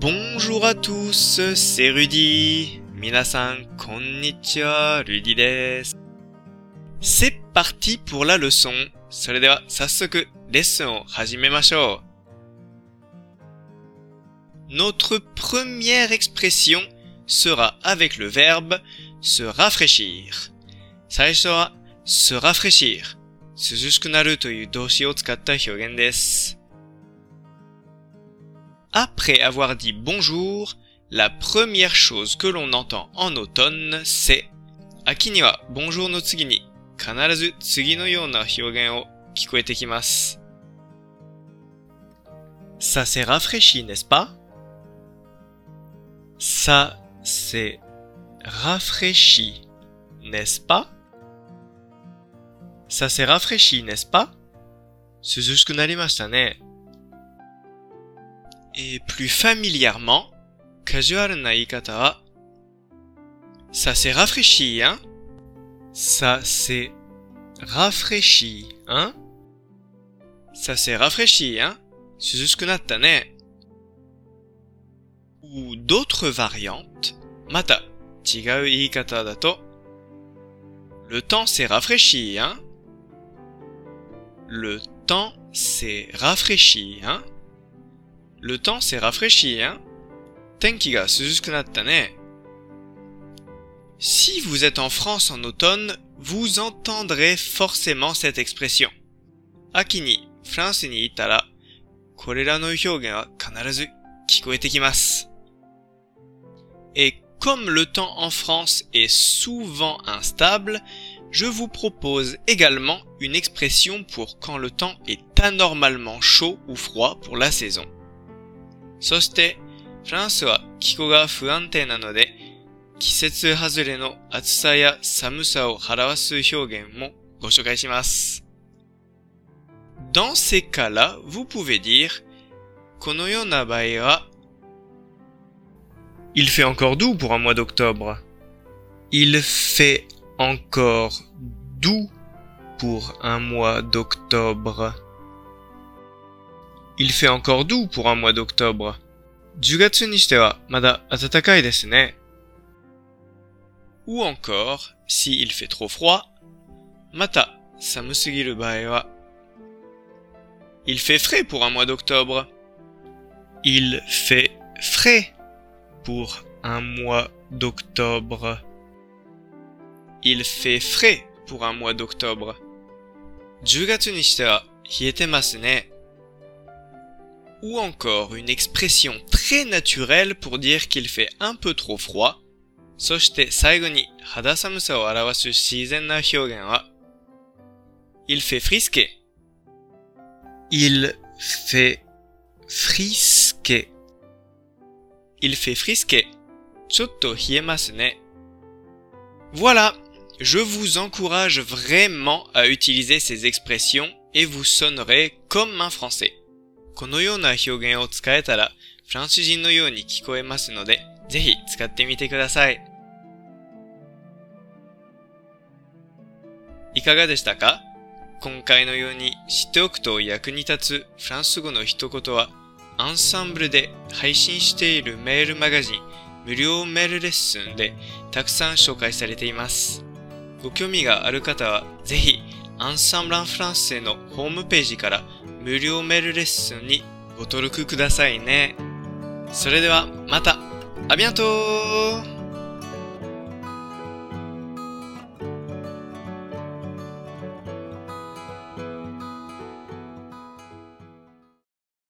Bonjour à tous, c'est Rudy. Minasan, konnichiwa, Rudy desu. C'est parti pour la leçon. それでは早速レッスンを始めましょう。Notre première expression sera avec le verbe se rafraîchir. 最初は se rafraîchir. 涼しくなるという動詞を使った表現です。Après avoir dit bonjour, la première chose que l'on entend en automne, c'est 秋には bonjour の次に必ず次のような表現を聞こえてきます。Ça s'est rafraîchi, n'est-ce pas? Ça s'est rafraîchi, n'est-ce pas? Ça s'est rafraîchi, n'est-ce pas? 涼しくなりましたね。Et plus familièrement, カジュアルな言い方は Ça s'est rafraîchi, hein? Ça s'est rafraîchi, hein? Ça s'est rafraîchi, hein? 涼しくなったね。Ou d'autres variantes, また違う言い方だと Le temps s'est rafraîchi, hein? Le temps s'est rafraîchi, hein? Le temps s'est rafraîchi, hein? 天気が涼しくなったね。Si vous êtes en France en automne, vous entendrez forcément cette expression. 秋にフランスにいたら、これらの表現は必ず聞こえてきます。Et comme le temps en France est souvent instable, je vous propose également une expression pour quand le temps est anormalement chaud ou froid pour la saison. そして、フランスは気候が不安定なので、季節外れの暑さや寒さを表す表現もご紹介します。Dans ces cas-là, vous pouvez dire このような場合は Il fait encore doux pour un mois d'octobre. Il fait encore doux pour un mois d'octobre. Il fait encore doux pour un mois d'octobre. 10月にしてはまだ暖かいですね。Ou encore, si il fait trop froid, また寒すぎる場合は Il fait frais pour un mois d'octobre. Il fait frais pour un mois d'octobre. Il fait frais pour un mois d'octobre. 10月にしては冷えてますね。Ou encore une expression très naturelle pour dire qu'il fait un peu trop froid. そして最後に肌寒さを表す自然な表現は Il fait frisquer. Il fait frisquer. Il fait frisquer. ちょっと冷えますね。Voilà, je vous encourage vraiment à utiliser ces expressions et vous sonnerez comme un français. このような表現を使えたらフランス人のように聞こえますので、ぜひ使ってみてください。いかがでしたか？今回のように知っておくと役に立つフランス語の一言は、アンサンブルで配信しているメールマガジン、無料メールレッスンでたくさん紹介されています。ご興味がある方は、ぜひ、アンサンブランフランセのホームページから無料メールレッスンにご登録くださいね。それではまた。À bientôt!